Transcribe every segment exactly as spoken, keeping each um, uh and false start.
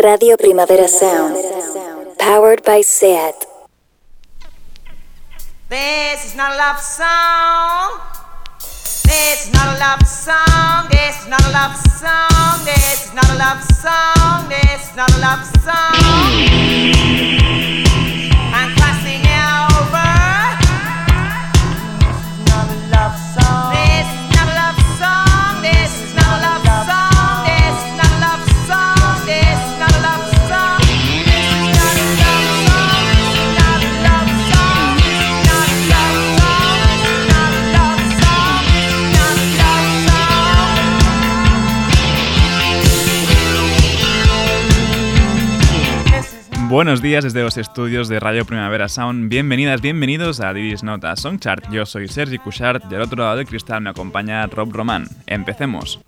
Radio Primavera Sound, powered by SEAT. This is not a love song. This is not a love song. This is not a love song. This is not a love song. This is not a love song. I'm crossing over. This is not a love song. This is not a love song. This is not a love song. This is not a love song. This is not a love song. This is not a love song. Not a love song. Not a love song. Not a love song. Not a love song. Buenos días desde los estudios de Radio Primavera Sound. Bienvenidas, bienvenidos a This Is Not a Song Chart. Yo soy Sergi Cuixart y al otro lado del cristal me acompaña Rob Román. Empecemos.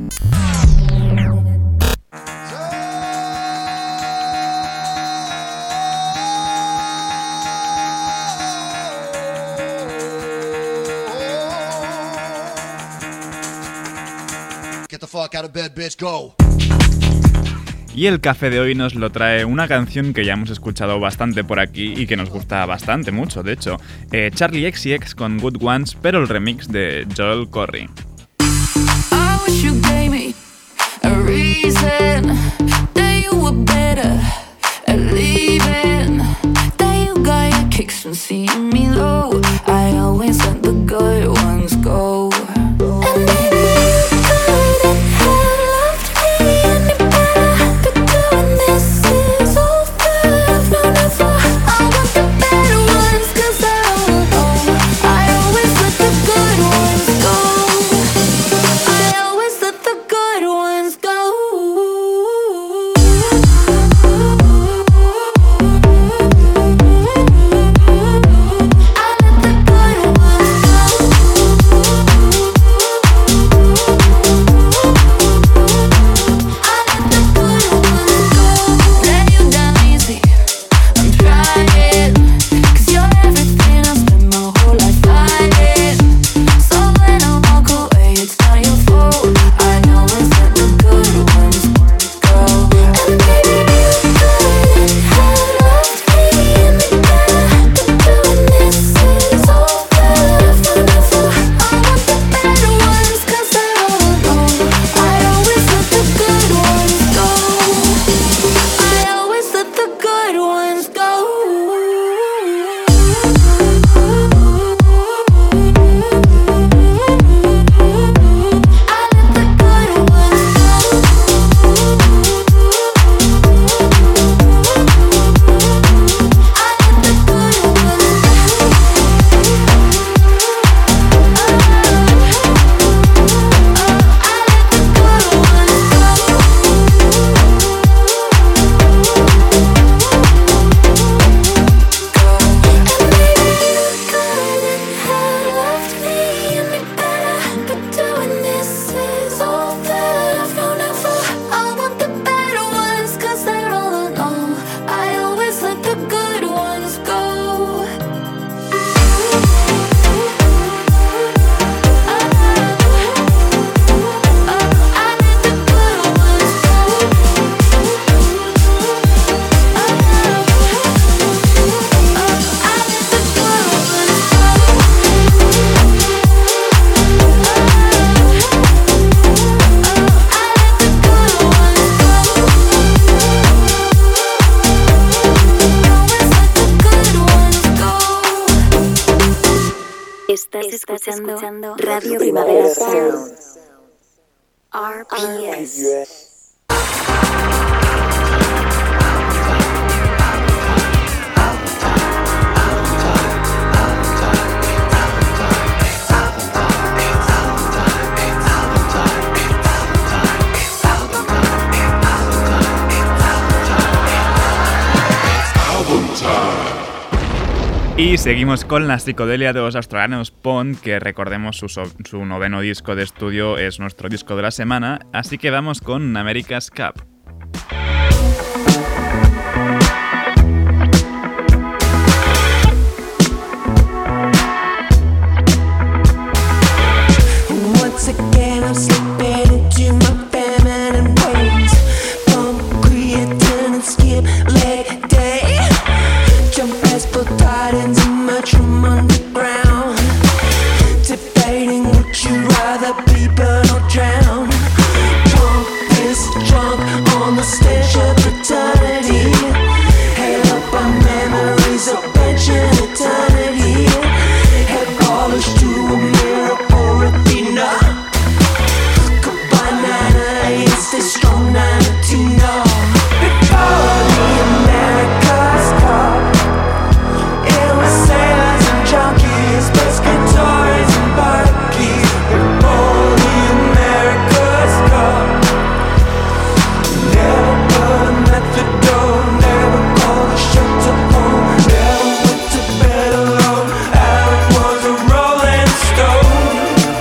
Get the fuck out of bed, bitch, go. Y el café de hoy nos lo trae una canción que ya hemos escuchado bastante por aquí y que nos gusta bastante mucho, de hecho. Eh, Charli X C X con Good Ones, pero el remix de Joel Corry. I wish you gave me a reason that you were better at leaving, that you got your kicks from seeing me low. I always let the good ones go. And maybe you couldn't have loved me any better, but doing this is all that I've known it for. I want the better ones, cause I don't know. I always let the good ones go. I always let the good ones go. Estás escuchando Radio Primavera Sound. R P S. Y seguimos con la psicodelia de los australianos Pond, que recordemos su, so- su noveno disco de estudio es nuestro disco de la semana, así que vamos con America's Cup. Once again I'm slipping into my feminine ways, concrete and it's worship eternity. Held up our memories of pension eternity. Head polished to a mirror for Athena. Goodbye Nana, stay strong Nana Tina. Before the America's Cup, it was sailors and junkies, pescators and barkeys. Before the America's Cup, never put a methadone, never called a shelter home, never went to bed alone. Alan was a rolling stone.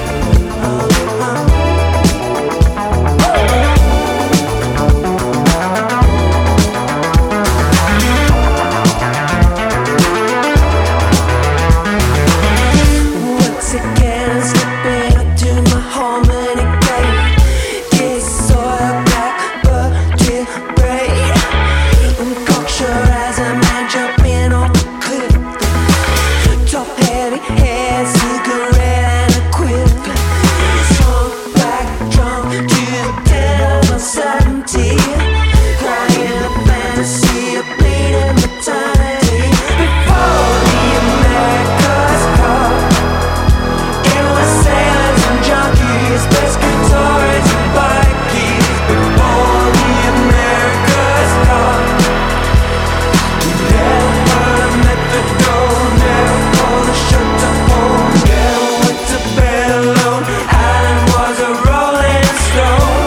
Once again I'm slipping to my harmony gate. This soil black vertebrae. I'm cocksure as a man jumping off the cliff. Top heavy hair, cigarette and a quip. Sunk back drunk to the dead of uncertainty. Crying a fantasy of bleeding maternity. Before the America's Cup, it was sailors and junkies, pescators and barkeys. Before the America's Cup, never put a methadone, never called a shelter home, never went to bed alone. Alan was a rolling stone.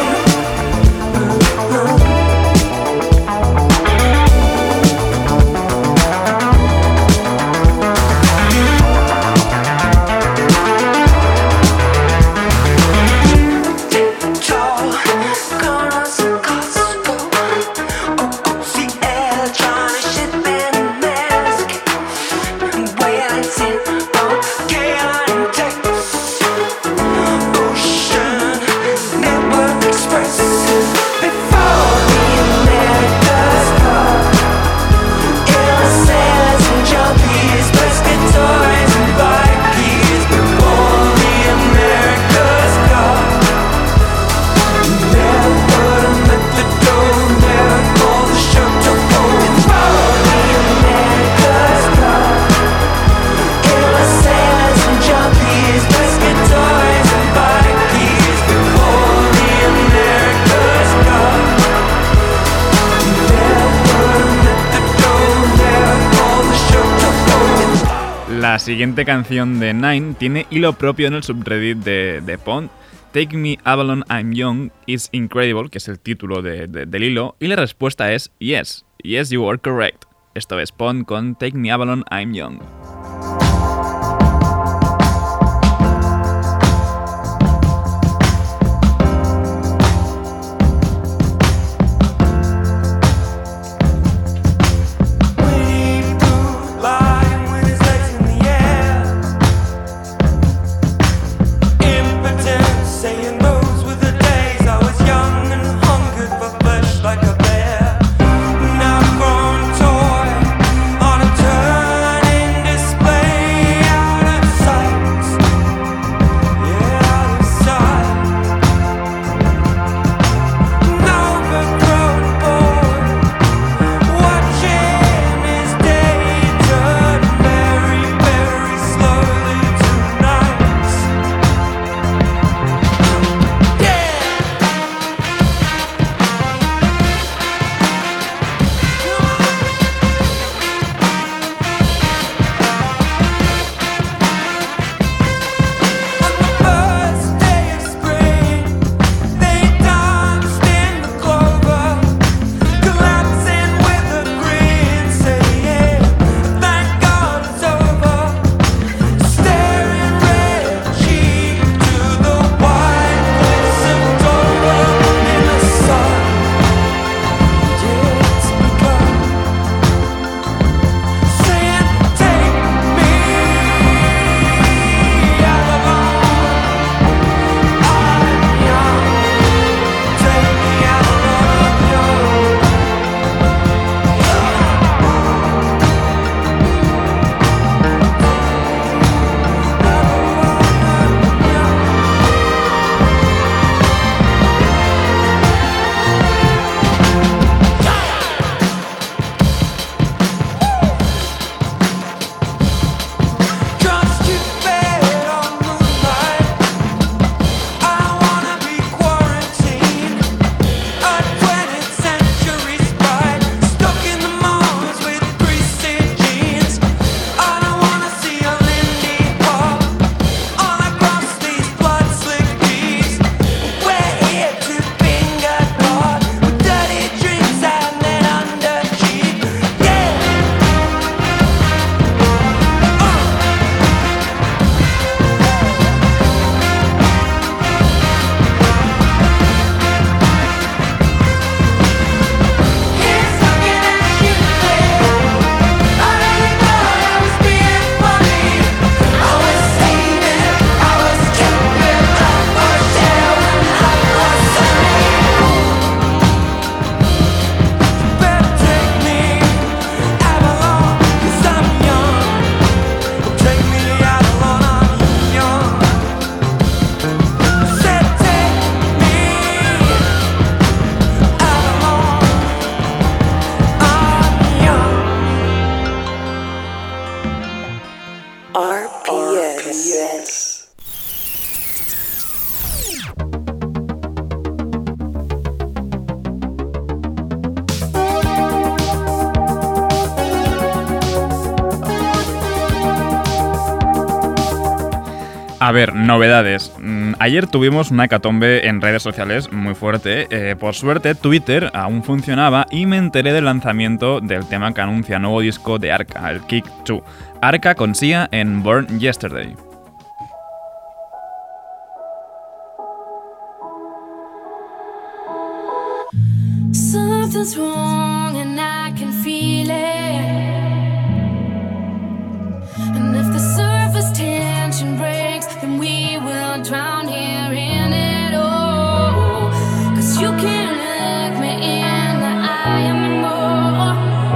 Tall, gone on some Costco. O O C L, trying to ship in a mask. Waiting on Galen and Texas. Ocean Network Express. Before the America's Cup, it was sailors and junkies, pescators and barkeys. Before the America's Cup, never put a methadone, never called a shelter home. Before the America's Cup, it was sailors and junkies, pescators and barkeys. Before the America's Cup, never put a methadone, never called a shelter home. La siguiente canción de Nine tiene hilo propio en el subreddit de, de Pond. Take Me Avalon I'm Young is Incredible, que es el título de, de, del hilo, y la respuesta es Yes, Yes you are correct. Esto es Pond con Take Me Avalon I'm Young. Lying with his legs in the air, impotent, saying those were the days I was young and hungered for flesh like a bear. Now grown toy on a turning A ver, novedades. Mm, Ayer tuvimos una hecatombe en redes sociales muy fuerte. Eh, por suerte, Twitter aún funcionaba y me enteré del lanzamiento del tema que anuncia nuevo disco de Arca, el Kick dos. Arca con Sia en Born Yesterday. Something's wrong and I can feel it. And if the surface tension breaks, then we will drown here in it all. Cause you can't look me in the eye anymore.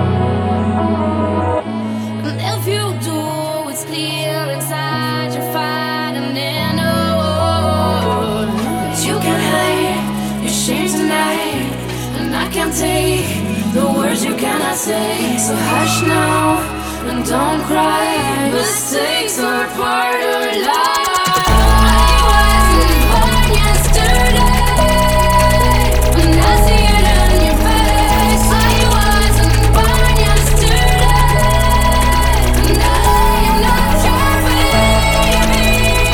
And if you do, it's clear inside you're fighting in a war. But you can hide your shame tonight, and I can't take the words you cannot say. So hush now and don't cry. Mistakes are part of life. I wasn't born yesterday, and I see it in your face. I wasn't born yesterday, and I am not your baby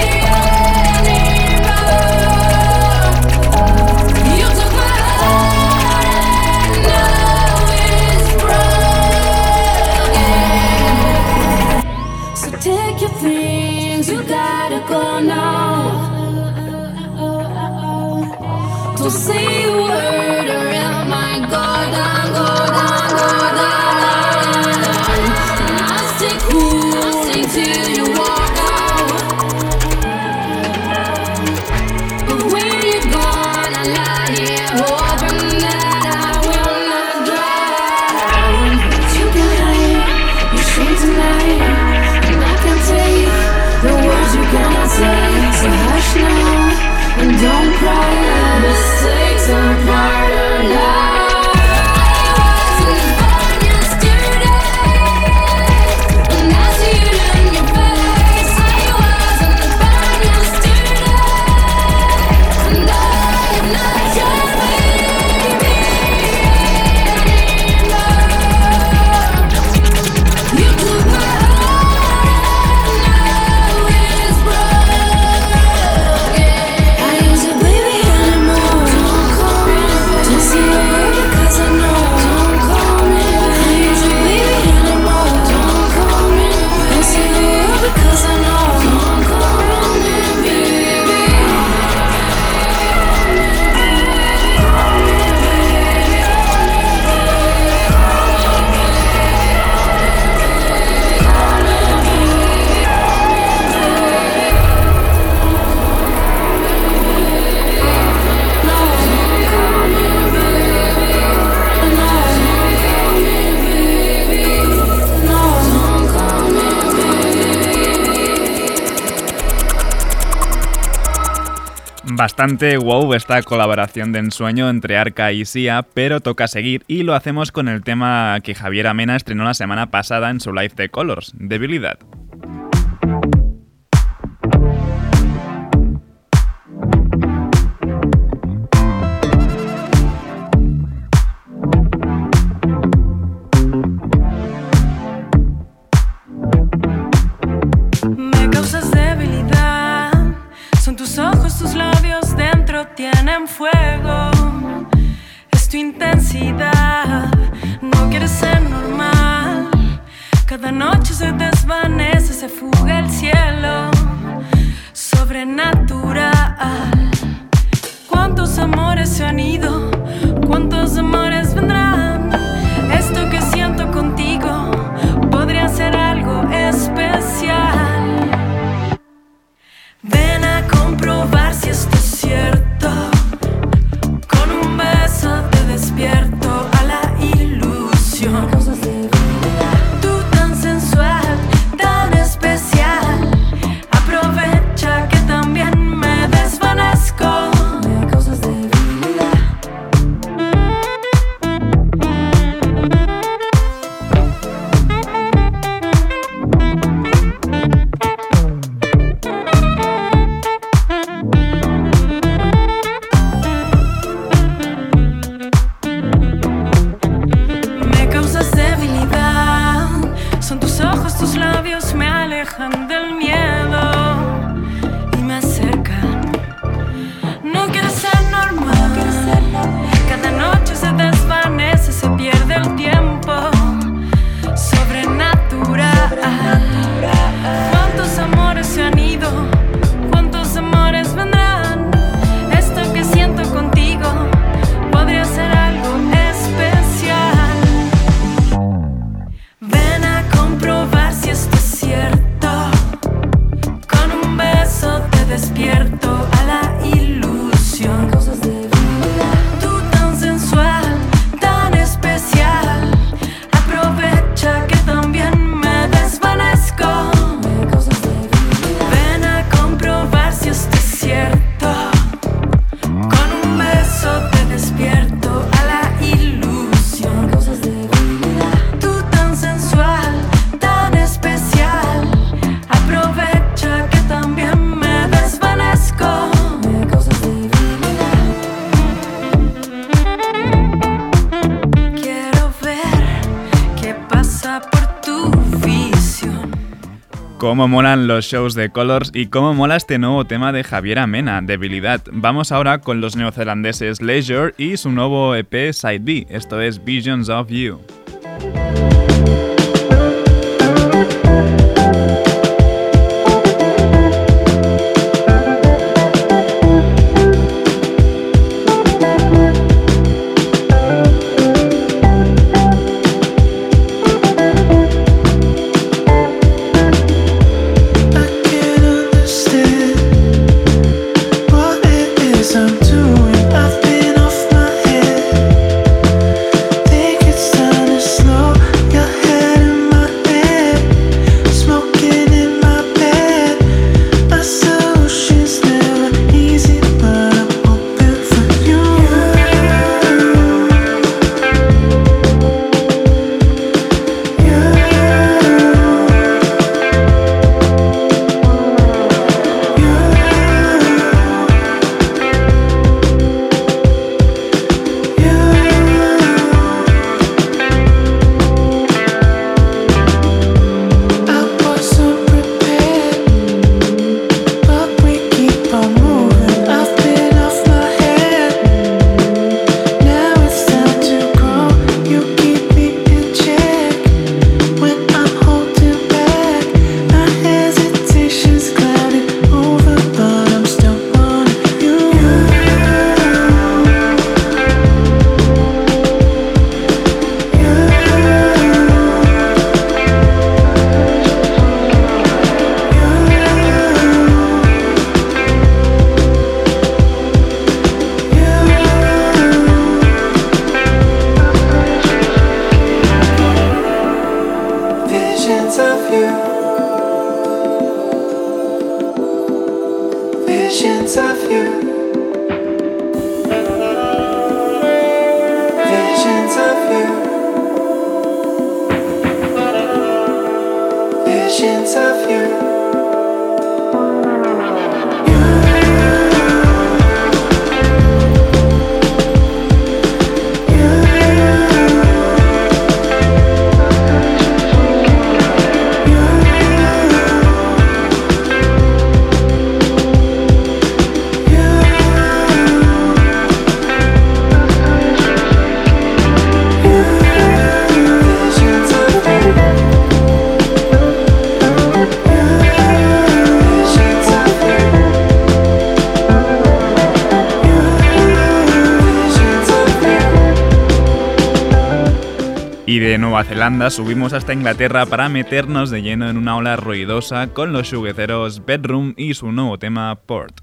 anymore. You took my heart and now it's broken. So take your things, you gotta go now. Don't say a word or it might go down, go down, go down. And I'll stay cool, I'll stay till you walk out. But when you're gone, I lie here hoping that I will not drown. But you can hide your shame tonight, and I can take the words you cannot say. So hush now and don't cry. Mistakes are part of life. I wasn't born yesterday, and I see it in your face. I wasn't born yesterday, and I am not your baby anymore. You took my heart and now it's broken. I ain't your baby anymore. Don't call me. Don't say a word because I know. Don't call me. I ain't your baby anymore. Don't call me. Don't say a word because I know. Don't call me, baby. Bastante wow esta colaboración de ensueño entre Arca y Sia, pero toca seguir y lo hacemos con el tema que Javier Amena estrenó la semana pasada en su live de Colors, Debilidad. Me causas debilidad, son tus ojos, tus labios dentro tienen fuego. Es tu intensidad, no quieres ser normal. Cada noche se desvanece, se fuga el cielo. Sobrenatural. ¿Cuántos amores se han ido? ¿Cuántos amores vendrán? Esto que siento contigo podría ser algo especial. Ven a comprobar si esto es cierto. Con un beso te despierto a la ilusión. Tú tan sensual, tan especial. Aprovecha que también me desvanezco. Me causas debilidad. Me causas debilidad. Son tus ojos, tus labios me alejan del miedo. pasa por tu visión. Cómo molan los shows de Colors y cómo mola este nuevo tema de Javier Amena, Debilidad. Vamos ahora con los neozelandeses Leisure y su nuevo E P Side B, esto es Visions of You. Y de Nueva Zelanda subimos hasta Inglaterra para meternos de lleno en una ola ruidosa con los xugueceros Bedroom y su nuevo tema Port.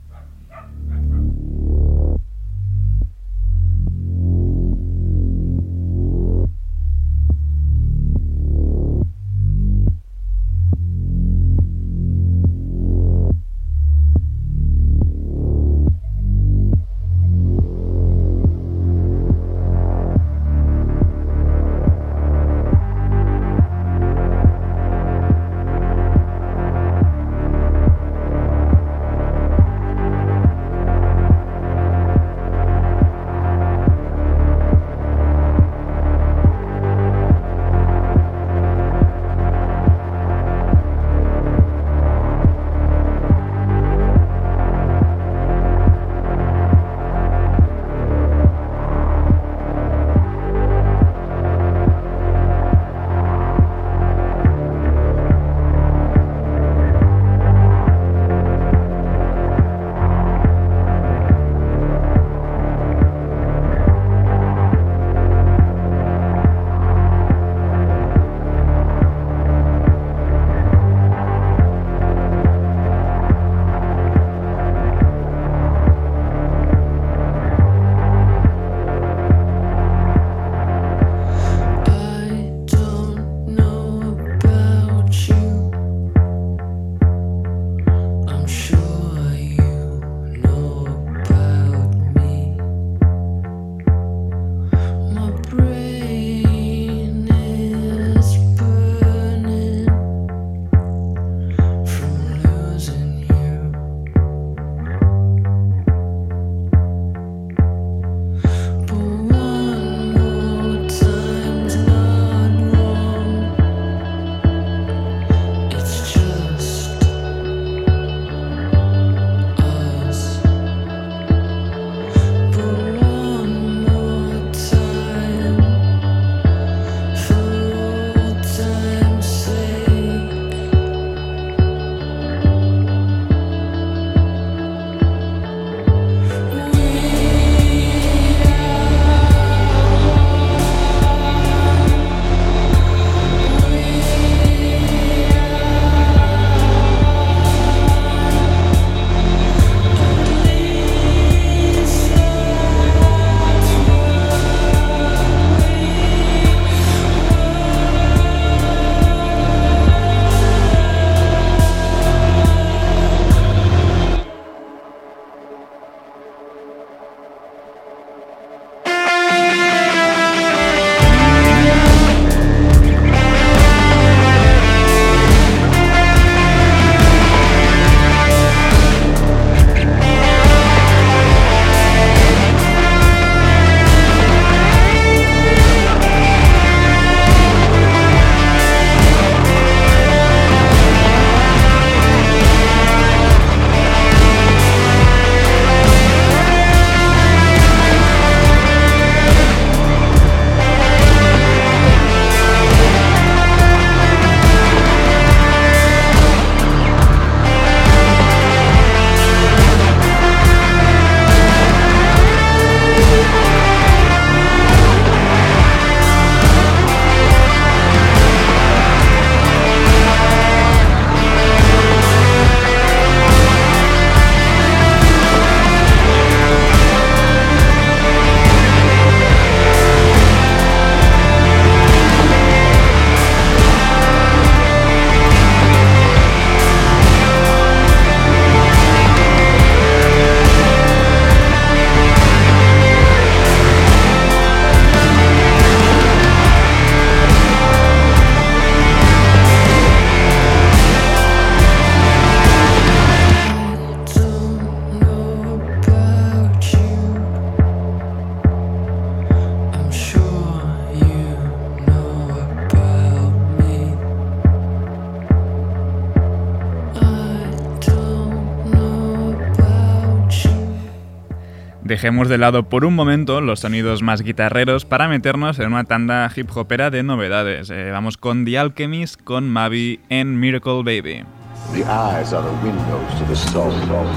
Dejemos de lado por un momento los sonidos más guitarreros para meternos en una tanda hip hopera de novedades. Eh, vamos con The Alchemist, con Mavi en Miracle Baby. The eyes are the windows to the soul.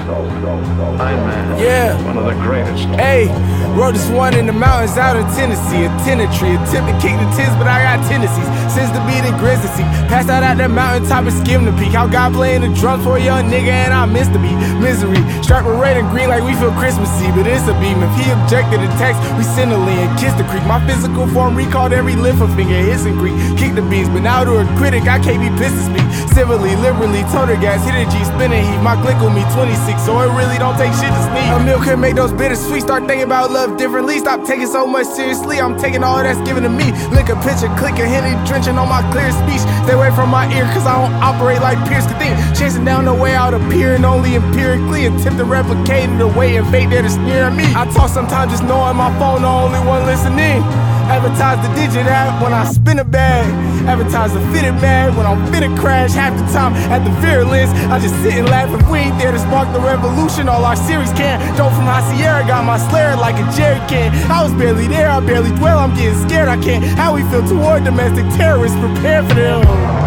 Iron Man, yeah, one of the greatest. Hey, wrote this one in the mountains out of Tennessee. A tenantry, attempt to kick the tens, but I got tendencies. Since the beat and grizzly, passed out at that mountaintop and skimmed the peak. How God playing the drums for a young nigga and I missed the beat. Misery, striped with red and green like we feel Christmassy, but it's a beam. If he objected to text, we send a lean, kiss the creek. My physical form recalled every lift a finger, hissing Greek. Kick the beans, but now to a critic, I can't be pissed to speak. Civilly, liberally, total gas, hit a G, spinning heat. My click with me twenty-six, so it really don't take shit to sneak. A meal can make those bittersweet. Start thinking about love differently. Stop taking so much seriously. I'm taking all that's given to me. Lick a picture, click a Henny, drenching on my clear speech. Stay away from my ear, cause I don't operate like Pierce could think. Chasing down the way out, appearing only empirically. Attempt to replicate it away and fate there to sneer at me. I talk sometimes just knowing my phone, the only one listening. Advertise the digit app when I spin a bag. Advertise the fitted bag when I'm finna crash. Half the time at the virulence, I just sit and laugh. If we ain't there to spark the revolution, all our series can. Dope from High Sierra, got my slayer like a jerry can. I was barely there, I barely dwell, I'm getting scared, I can't. How we feel toward domestic terrorists, prepare for them.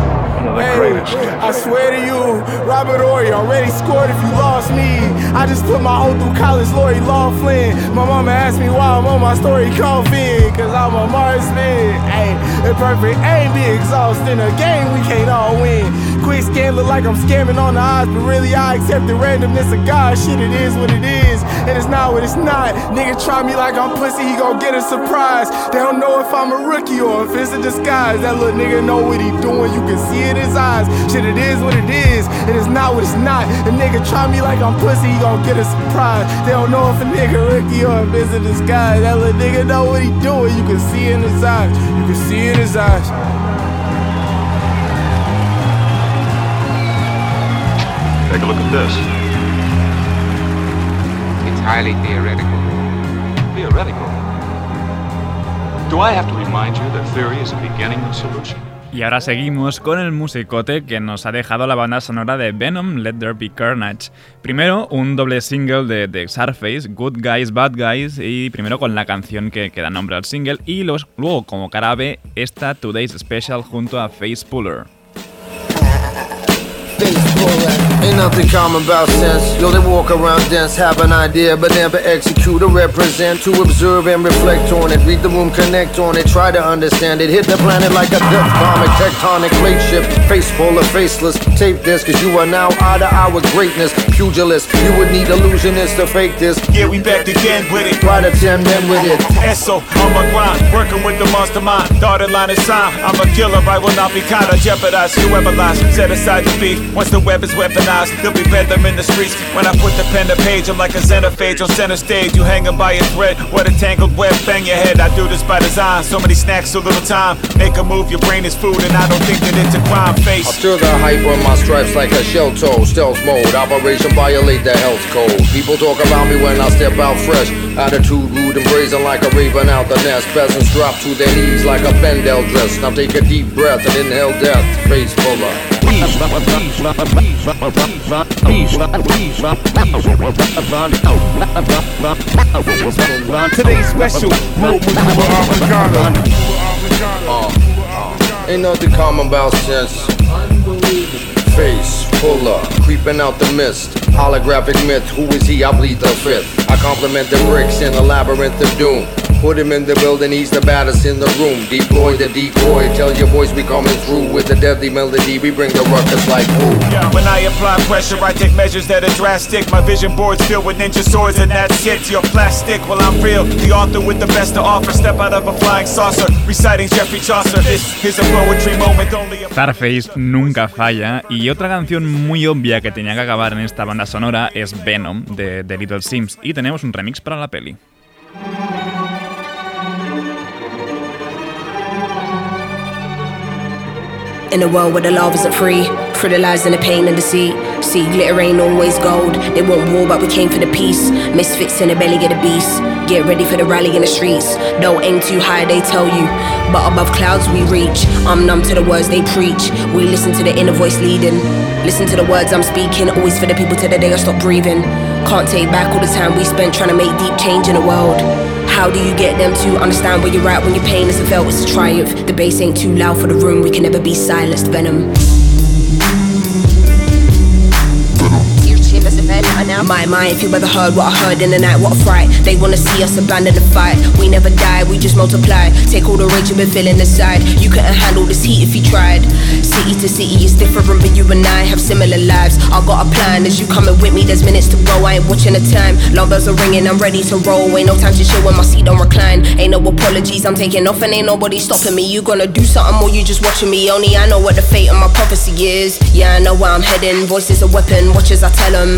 Hey, I swear to you, Robert Horry already scored if you lost me. I just put my hoe through college, Lori Law Flynn. My mama asked me why I'm on my story coffin, cause I'm a marksman. Hey, the perfect aim be exhausting. A game we can't all win. Quick scan look like I'm scamming on the odds, but really I accept the randomness of God. Shit, it is what it is, and it's not what it's not. Nigga try me like I'm pussy, he gon' get a surprise. They don't know if I'm a rookie or if it's a disguise. That little nigga know what he doing, you can see it in his eyes. Shit, it is what it is, and it's not what it's not. A nigga try me like I'm pussy, he gon' get a surprise. They don't know if a nigga rookie or if it's a disguise. That little nigga know what he doing, you can see it in his eyes. You can see it in his eyes. Take a look at this. It's highly theoretical. Theoretical? Do I have to remind you that theory is a beginning of solution? Y ahora seguimos con el musicote que nos ha dejado la banda sonora de Venom, Let There Be Carnage. Primero, un doble single de, de Surface, Good Guys, Bad Guys, y primero con la canción que, que da nombre al single, y los, luego, como cara B, esta Today's Special junto a Face Puller. Ain't nothing common about sense. Yo, they walk around dense, have an idea, but never execute or represent. To observe and reflect on it, read the room, connect on it, try to understand it. Hit the planet like a death comic, tectonic plate shift, face full of faceless. Tape this, cause you are now out of our greatness. Pugilist, you would need illusionists to fake this. Yeah, we back again with it. Try to ten men with it. Eso, on my grind, working with the mastermind. Dotted line is signed. I'm a killer, I will not be kind of jeopardize whoever lies. Set aside the beef. Once the web is weaponized, there'll be bedlam in the streets. When I put the pen to page, I'm like a xenophage on center stage. You hanging by a thread, what a tangled web, bang your head. I do this by design, so many snacks, so little time. Make a move, your brain is food, and I don't think that it's a crime face. I stir the hype on my stripes like a shell toe. Stealth mode, operation violate the health code. People talk about me when I step out fresh. Attitude rude and brazen like a raven out the nest. Peasants drop to their knees like a Bendel dress. Now take a deep breath and inhale death. Face fuller. Today's special. Uh, uh, ain't nothing common about sense. Face fuller, creeping out the mist. Holographic myth, who is he? I bleed the fifth. I compliment the bricks in a labyrinth of doom. Put him in the building, he's the baddest in the room. Deploy the decoy, tell your boys we coming through. With the deadly melody, we bring the ruckus like who? When I apply pressure, I take measures that are drastic. My vision board's filled with ninja swords and that's it. You're plastic, well I'm real. The author with the best to offer. Step out of a flying saucer, reciting Jeffrey Chaucer. This is a poetry moment only. Starface nunca falla. Y otra canción muy obvia que tenía que acabar en esta banda sonora es Venom, de, de Little Sims. Y tenemos un remix para la peli. In a world where the love isn't free, fertilizing the pain and deceit. See, glitter ain't always gold. They want war, but we came for the peace. Misfits in the belly of the beast. Get ready for the rally in the streets. Don't aim too high, they tell you, but above clouds we reach. I'm numb to the words they preach. We listen to the inner voice leading. Listen to the words I'm speaking. Always for the people till the day I stop breathing. Can't take back all the time we spent trying to make deep change in the world. How do you get them to understand where you're at when your pain isn't felt? It's a triumph. The bass ain't too loud for the room. We can never be silenced. Venom. My mind, if you ever heard what I heard in the night, what a fright. They wanna see us abandon the fight. We never die, we just multiply. Take all the rage you've been feeling inside. You couldn't handle this heat if you tried. City to city is different, but you and I have similar lives. I got a plan, as you coming with me, there's minutes to go. I ain't watching the time, long bells are ringing, I'm ready to roll. Ain't no time to chill when my seat don't recline. Ain't no apologies, I'm taking off and ain't nobody stopping me. You gonna do something or you just watching me? Only I know what the fate of my prophecy is. Yeah, I know where I'm heading, voice is a weapon, watch as I tell them.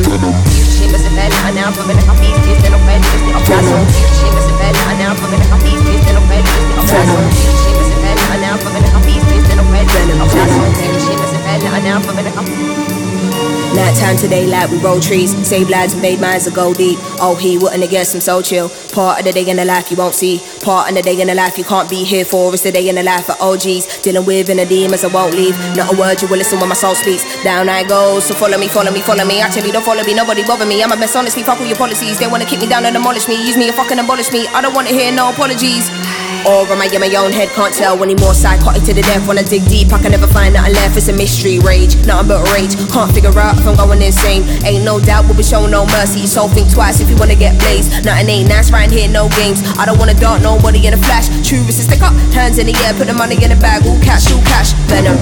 Night time to daylight, we roll trees, save lives and made minds that go deep. Oh, he wouldn't have guessed I'm so chill. Part of the day in the life you won't see. Part of the day in the life you can't be here for. It's the day in the life of O Gs. Dealing with inner demons I won't leave. Not a word you will listen when my soul speaks. Down I go, so follow me, follow me, follow me. Actually don't follow me, nobody bother me. I'm a best honestly, fuck all your policies. They wanna kick me down and demolish me. Use me or fucking abolish me. I don't wanna hear no apologies. Or am I in my own head, can't tell anymore. Psychotic to the death, when I dig deep I can never find nothing left. It's a mystery, rage, nothing but rage. Can't figure out if I'm going insane. Ain't no doubt we'll be showing no mercy. So think twice if you wanna get blazed. Nothing ain't nice right here, no games. I don't wanna dart nobody in a flash. True is to stick up, hands in the air, put the money in the bag. All cash, all cash, venom.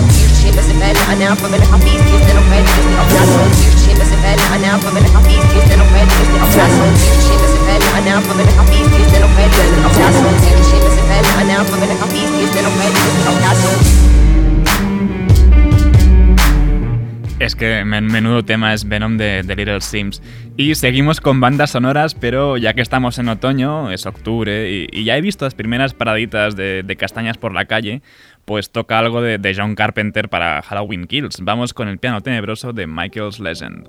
Es que men menudo tema es Venom de, de Little Sims. Y seguimos con bandas sonoras, pero ya que estamos en otoño, es octubre, y, y ya he visto las primeras paraditas de, de castañas por la calle, pues toca algo de, de John Carpenter para Halloween Kills. Vamos con el piano tenebroso de Michael's Legend.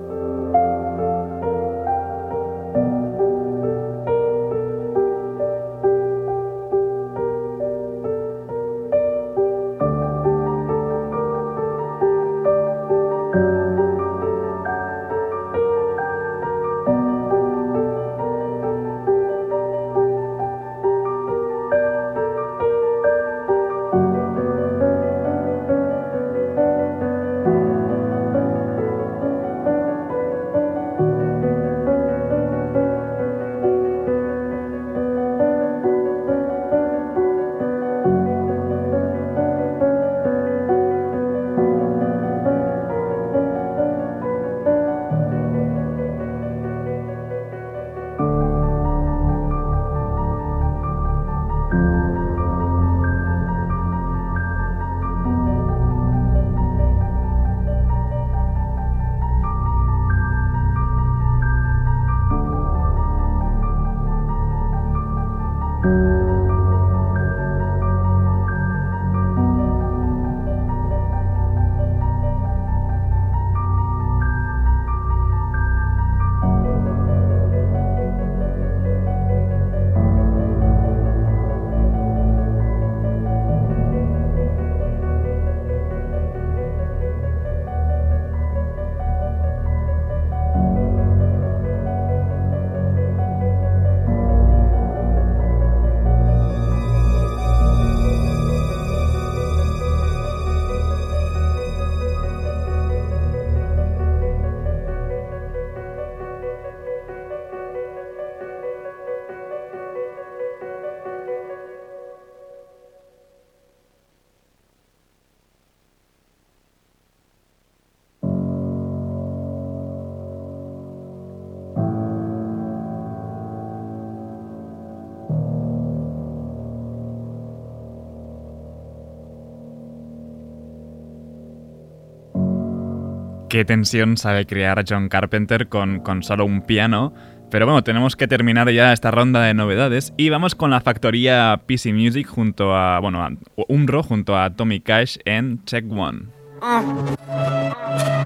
Qué tensión sabe crear John Carpenter con, con solo un piano. Pero bueno, tenemos que terminar ya esta ronda de novedades y vamos con la factoría P C Music junto a, bueno, a Umro junto a Tommy Cash en Check One. Uh.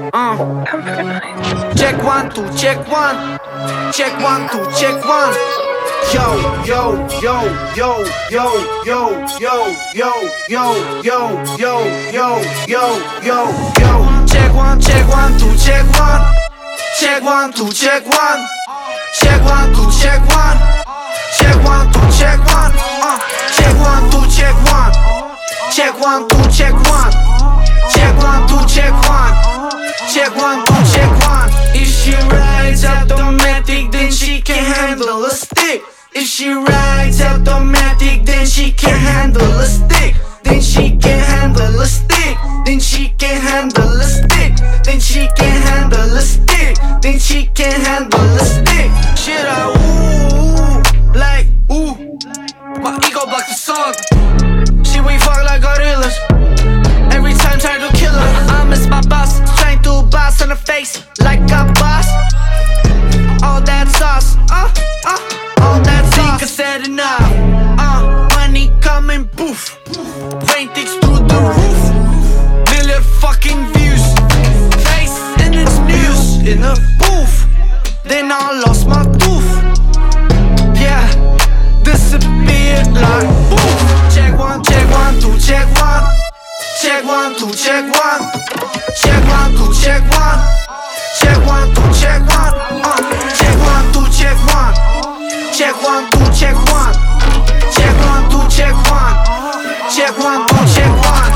Uh. Check one, two, check one. Check one, two, check one. Yo, yo, yo, yo, yo, yo, yo, yo, yo, yo, yo, yo, yo, yo, yo. Check one, check one, two, check one. Check one, two, check one. Check one, two, check one. Check one, two, check one. Uh, check one, two, check one. Check one, two, check one. Check one, two, check one. Check one, two, check one. If she rides automatic, then she can handle a stick. If she rides automatic, then she can handle a stick. Then she can handle a stick. Then she can handle a stick. Then she can handle a stick. Then she can handle a stick. Shit, I ooh, like ooh. My ego blocked the song. She we fuck like gorillas. Every time trying to kill her. I miss my boss, trying to boss on her face like a boss. All that sauce, uh, uh, all that sauce. Think I said enough, uh, money coming, poof. Ratings through the roof. Million fucking views. Face in its news, in a booth. Then I lost my tooth. Yeah, disappeared like poof. Check one, check one, two, check one. Check one, two, check one. Check one, two, check one. Check one, two, check one. Uh, check one, two, check one. Check one, two, check one. Check one, two, check one. Check one, two, check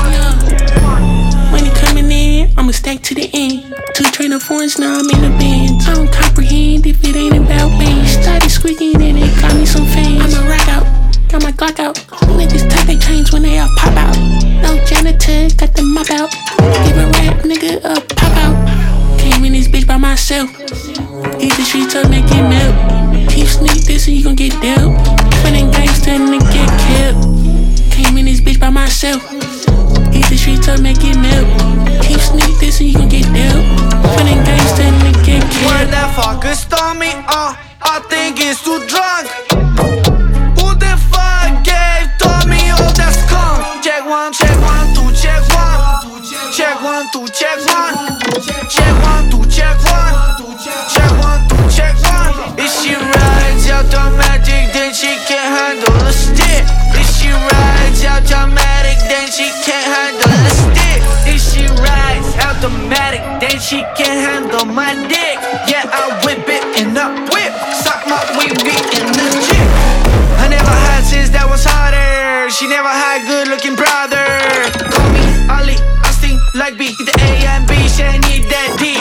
one. Money coming in, I'ma stack to the end. Two trainer foreigns, now I'm in the bands. I don't comprehend if it ain't about me. Started squeaking and it got me some fans. I'ma rock out, got my Glock out. Niggas take their chains when they all pop out. No janitor, got the mop out. Give a rap nigga a pop out. Came in this bitch by myself. Hit the streets up, make it melt. Keep sneak this and you gon' get dealt. Running gangsta and then get killed. Came in this bitch by myself. Hit the streets up, make it melt. Keep sneak this and you gon' get dealt. Running gangsta and then get killed. Where the fuck is Tommy? Uh, I think he's too drunk. Who the fuck gave Tommy all that skunk? Check one, check one, two, check one. Check one, two, check one. Check one, two, check one. Check one, two, check one. If she rides automatic, then she can handle a stick. If she rides automatic, then she can handle a stick. If she rides automatic, then she can handle my dick. Yeah, I whip it in a whip. Suck my wee wee in the chip. I never had sis that was hotter. She never had good looking brother. Call me Ali, I sting like B. The A and B, she need that D.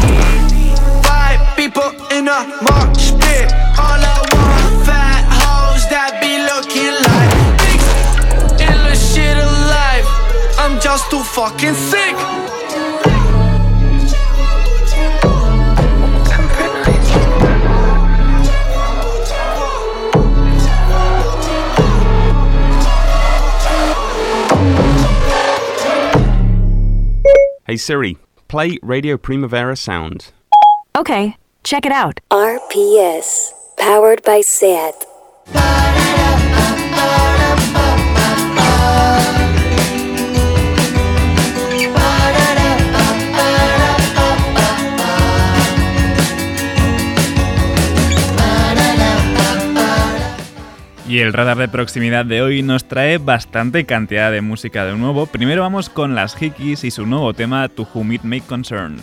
Five people in a mosh pit. All I want, fat hoes that be looking like dicks. Illest shit alive. I'm just too fucking sick. Hey Siri, play Radio Primavera Sound. Okay, check it out. R P S, powered by S E A T. Y el radar de proximidad de hoy nos trae bastante cantidad de música de nuevo. Primero vamos con las Hickeys y su nuevo tema To Whom It May Concern.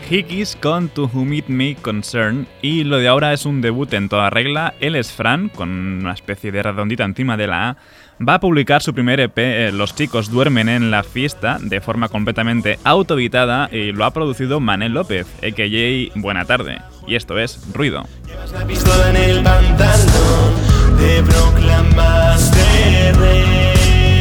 Hickeys con To Whom It May Concern, y lo de ahora es un debut en toda regla. Él es Fran, con una especie de redondita encima de la A. Va a publicar su primer E P, eh, Los chicos duermen en la fiesta, de forma completamente autoeditada, y lo ha producido Manel López, a k a. Buena Tarde. Y esto es Ruido. Llevas la pistola en el pantalón, te proclamaste rey.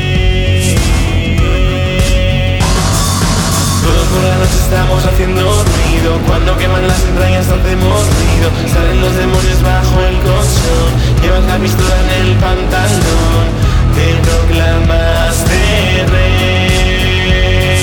Todos por la noche estamos haciendo ruido, cuando queman las entrañas hacemos ruido, salen los demonios bajo el colchón, llevas la pistola en el pantalón, te proclamaste rey.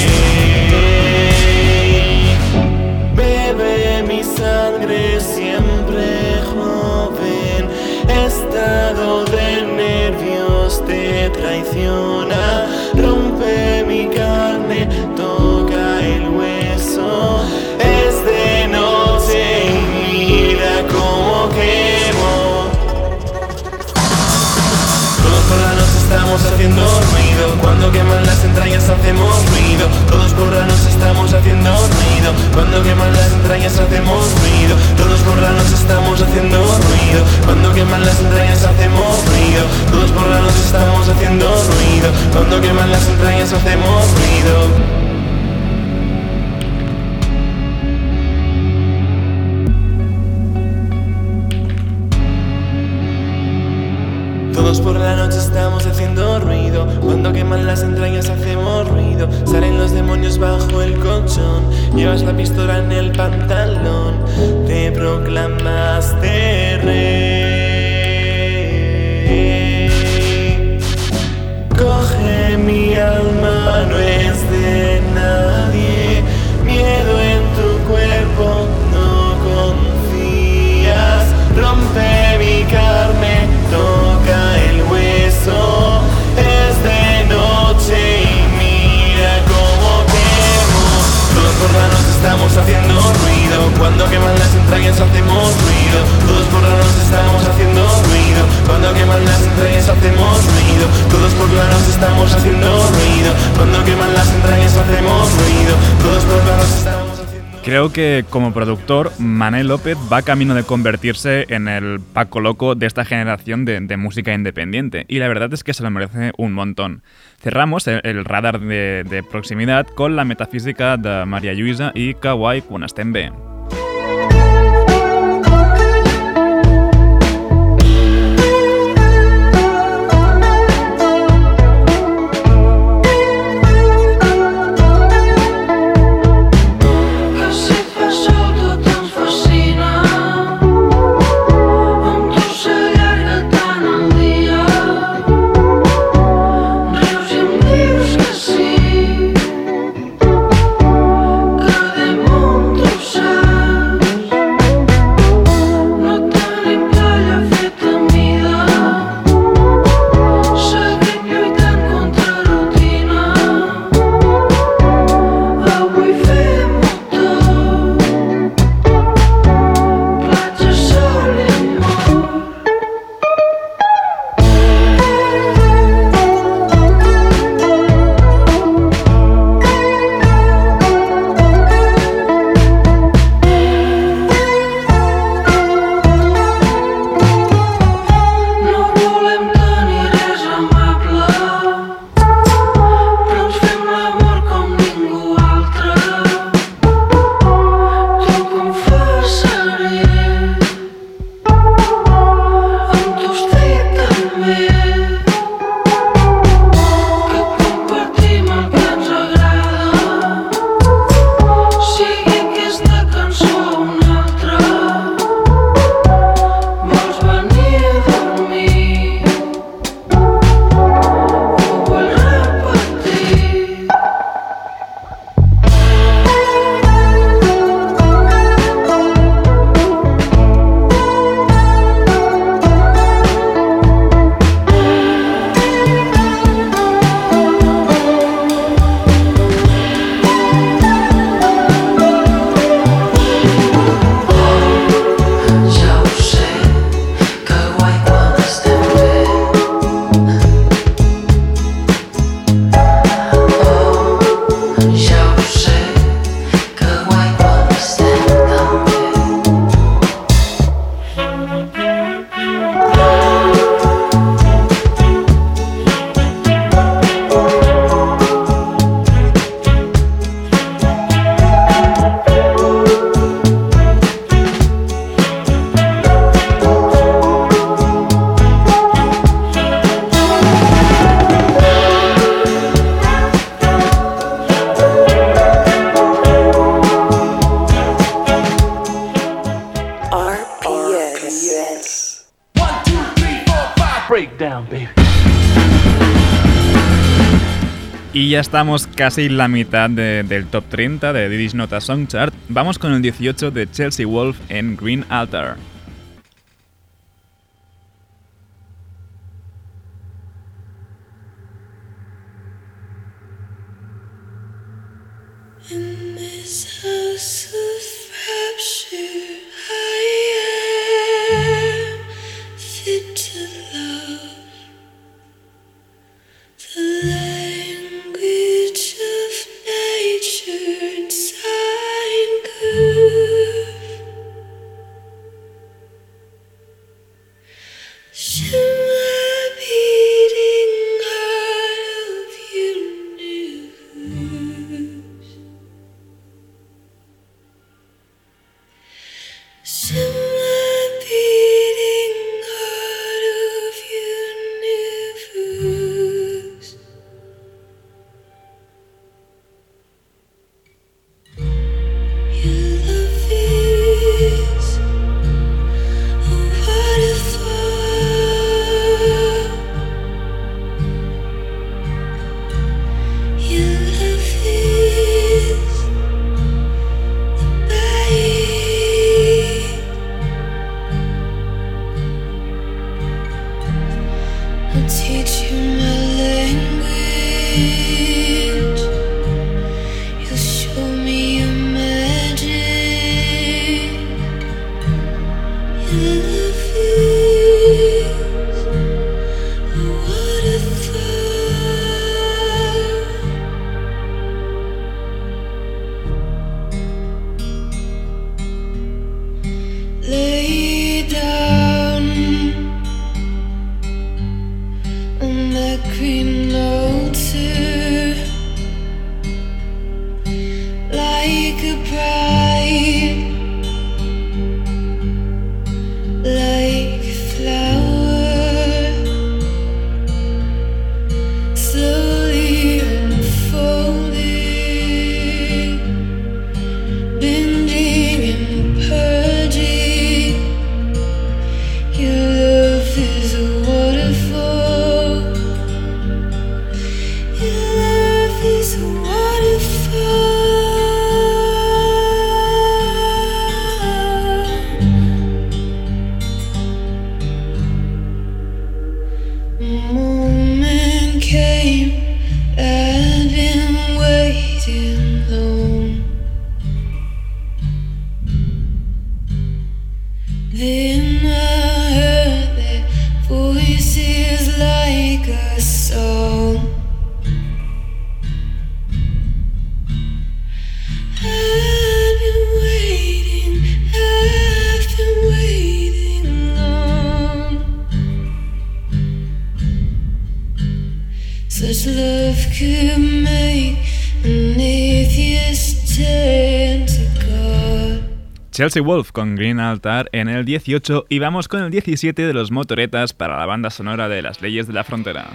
Bebe mi sangre siempre joven, estado de nervios te traiciona, rompe mi carne, toca el hueso, es de noche y mira cómo quemo. Todos por la noche estamos haciendo ruido, cuando queman las entrañas hacemos ruido, todos por la noche estamos haciendo ruido, cuando queman las entrañas hacemos ruido, todos por la noche estamos haciendo ruido, cuando queman las entrañas hacemos ruido, todos por la noche estamos haciendo ruido, cuando queman las entrañas hacemos ruido. Todos por la noche estamos haciendo ruido, cuando queman las entrañas hacemos ruido, salen los demonios bajo el colchón, llevas la pistola en el pantalón, te proclamaste rey. Coge mi alma, no es de nadie, miedo en tu cuerpo, no confías, rompe mi carne, toca el hueso, es de noche y mira cómo quemo. Todos por la noche estamos haciendo ruido, cuando queman las entrañas hacemos ruido, todos por la noche estamos haciendo ruido, cuando queman las entrañas hacemos ruido, todos por la noche estamos haciendo ruido, cuando queman las entrañas hacemos ruido, todos por la noche estamos. Creo que como productor, Manel López va camino de convertirse en el Paco Loco de esta generación de, de música independiente, y la verdad es que se lo merece un montón. Cerramos el, el radar de, de proximidad con la metafísica de Maria Lluïsa i Kawaii quan estem bé. Shine. R P S. One, two, three, four, five. Breakdown, baby. Y ya estamos casi en la mitad de, del top treinta de Diddy's Not a Song Chart. Vamos con el dieciocho de Chelsea Wolfe en Green Altar. In this house of rapture, I am fit to love. The language of nature in sign curve. Shimmer beating heart of universe. Shimmer beating heart of universe. Your love is a waterfall. Your love is the bait. I'll teach you my language. You'll show me your magic. Your love is a waterfall. Lay down on that green altar like a bride, like a flower, slowly unfolding, bending and purging. Your love is a waterfall. Your love is a waterfall. Moment came, I'd been waiting long. Then I heard their voices like a song. I've been waiting, I've been waiting long. Such love could make an atheist turn to God. Chelsea Wolfe con Green Altar en el dieciocho y vamos con el diecisiete de los Motoretas para la banda sonora de Las Leyes de la Frontera.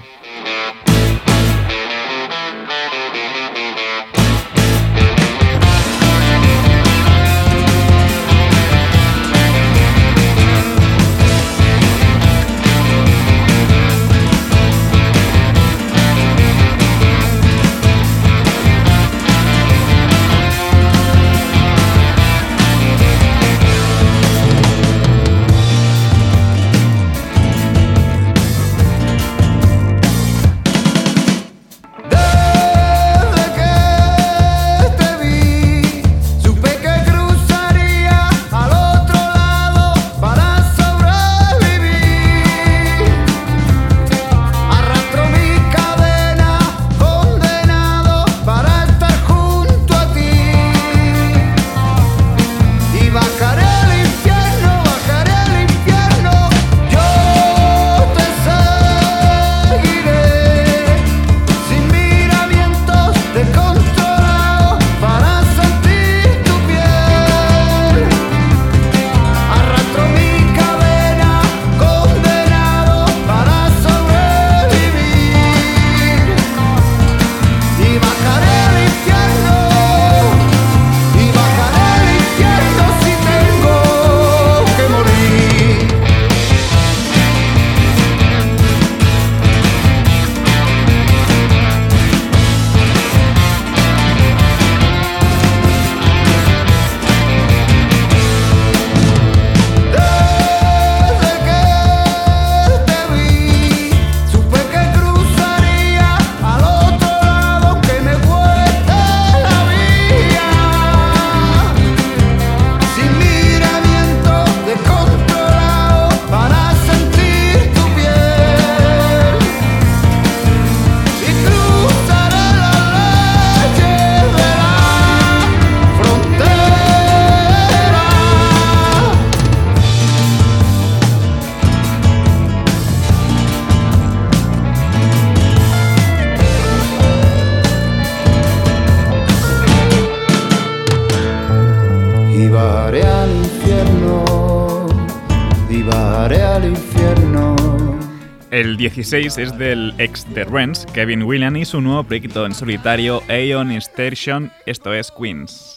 haré al infierno. El dieciséis es del ex de Rents, Kevin Whelan, y su nuevo proyecto en solitario, Aeon Station, esto es Queens.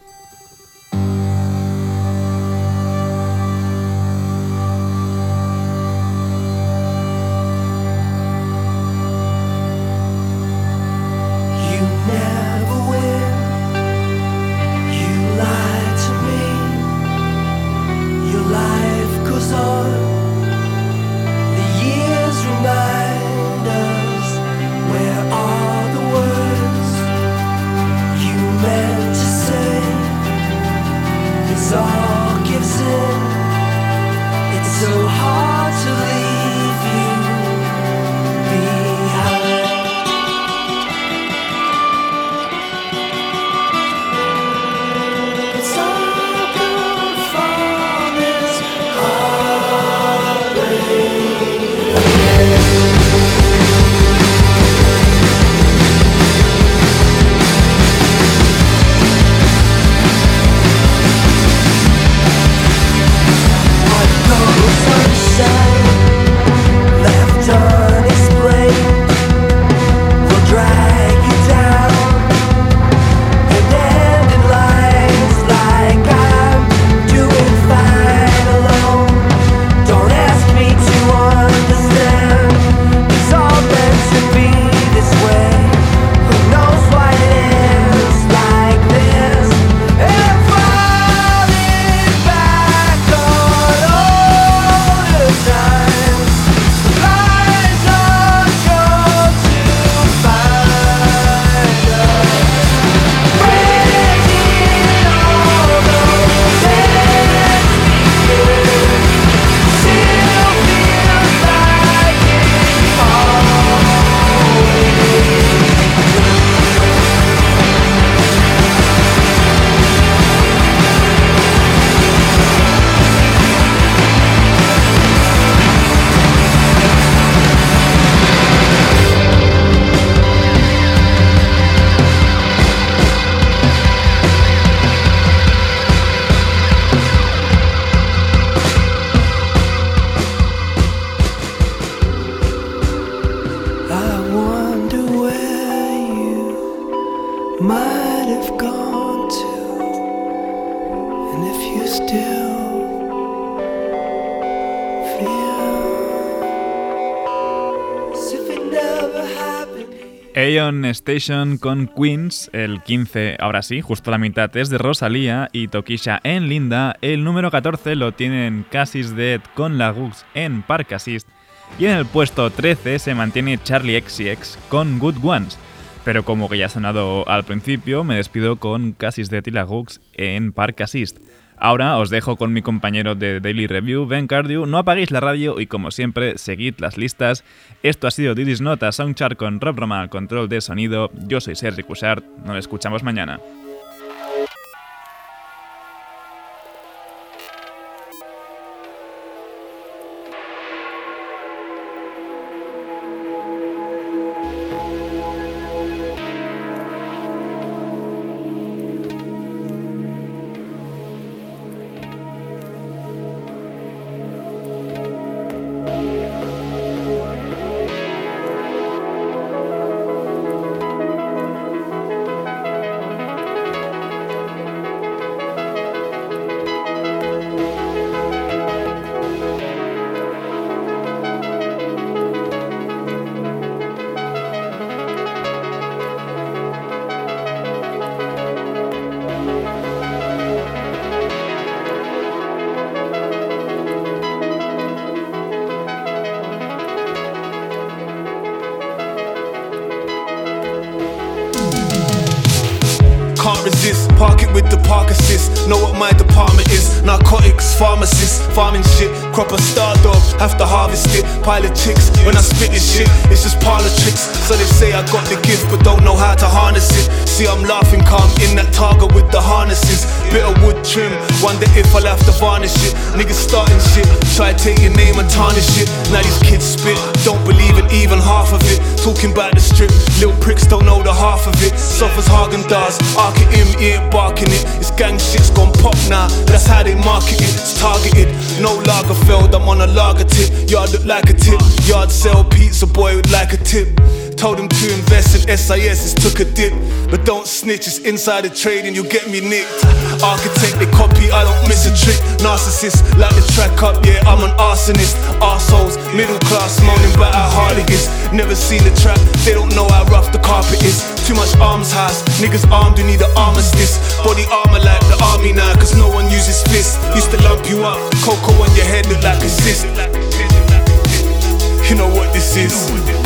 Aeon Station con Queens, el quince, ahora sí, justo la mitad es de Rosalía y Tokisha en Linda, el número catorce lo tienen Cassis Dead con La Gux en Park Assist y en el puesto trece se mantiene Charlie X C X con Good Ones, pero como que ya ha sonado al principio, me despido con Cassis Dead y La Gux en Park Assist. Ahora os dejo con mi compañero de Daily Review, Ben Cardew. No apaguéis la radio y, como siempre, seguid las listas. Esto ha sido This Is Not a Soundchart con Rob Roma al control de sonido. Yo soy Sergi Cushart. Nos escuchamos mañana. Can't resist, park it with the park assist. Know what my department is. Narcotics, pharmacists, farming shit. Crop a star dog, have to harvest it. Pile of chicks, when I spit this shit, it's just parlor tricks. So they say I got the gift, but don't know how to harness it. See, I'm laughing calm in that target with the harnesses. Bit of wood trim, wonder if I'll have to varnish it. Niggas starting shit, try to take your name and tarnish it. Now these kids spit, don't believe in even half of it. Talking about the strip, little pricks don't know the half of it. Soft as Haagen-Dazs, arc it him, he ain't barking it. It's gang shit's gone pop now, that's how they market it. It's targeted, no Lagerfeld, I'm on on a lager tip. Yard look like a tip. Yard sell pizza, boy would like a tip. Told him to invest in S I S, took a dip. But don't snitch, it's insider trading, you'll get me nicked. Architect, they copy, I don't miss a trick. Narcissist, like the track up, yeah, I'm an arsonist. Arseholes, middle class, moaning about how hard it is. Never seen the trap, they don't know how rough the carpet is. Too much arms house, niggas armed, you need an armistice. Body armor like the army now, cause no one uses fists. Used to lump you up, cocoa on your head look like a cyst. You know what this is.